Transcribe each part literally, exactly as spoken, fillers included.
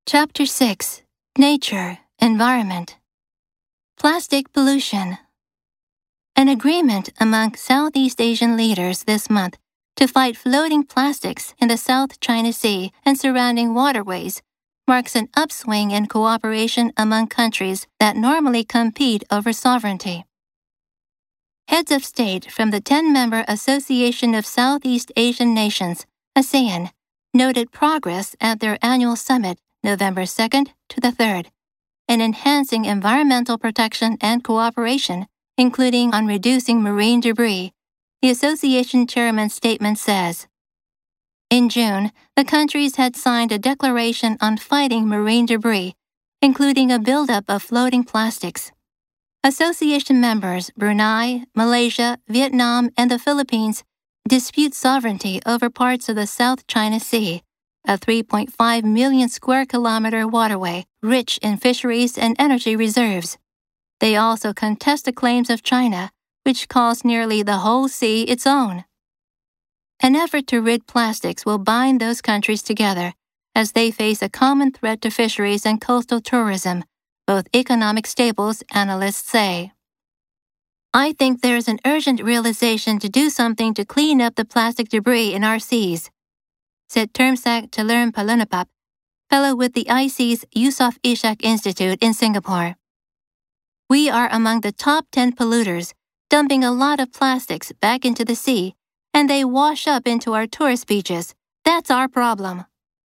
Chapter six. Nature, Environment. Plastic Pollution. An agreement among Southeast Asian leaders this month to fight floating plastics in the South China Sea and surrounding waterways marks an upswing in cooperation among countries that normally compete over sovereignty. Heads of state from the ten-member Association of Southeast Asian Nations, ASEAN, noted progress at their annual summit November second to the third in enhancing environmental protection and cooperation, including on reducing marine debris, the association chairman's statement says. In June, the countries had signed a declaration on fighting marine debris, including a buildup of floating plastics. Association members Brunei, Malaysia, Vietnam, and the Philippines dispute sovereignty over parts of the South China Sea, a three point five million square kilometer waterway rich in fisheries and energy reserves. They also contest the claims of China, which calls nearly the whole sea its own. An effort to rid plastics will bind those countries together as they face a common threat to fisheries and coastal tourism, both economic staples, analysts say. I think there is an urgent realization to do something to clean up the plastic debris in our seas, said Termsak Chalermpalunapap, fellow with the I C's Yusof Ishak Institute in Singapore. We are among the top ten polluters, dumping a lot of plastics back into the sea, and they wash up into our tourist beaches. That's our problem.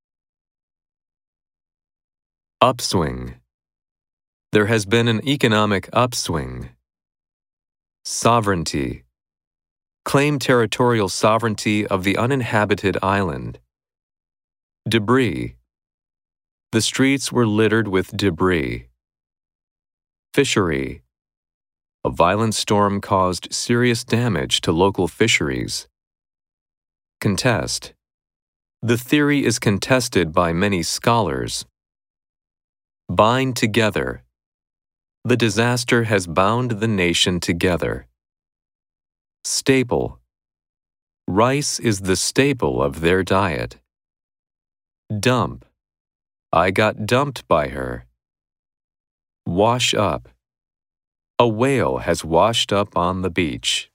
Upswing. There has been an economic upswing. Sovereignty. Claim territorial sovereignty of the uninhabited island. Debris. The streets were littered with debris. Fishery. A violent storm caused serious damage to local fisheries. Contest. The theory is contested by many scholars. Bind together. The disaster has bound the nation together. Staple. Rice is the staple of their diet. Dump. I got dumped by her. Wash up. A whale has washed up on the beach.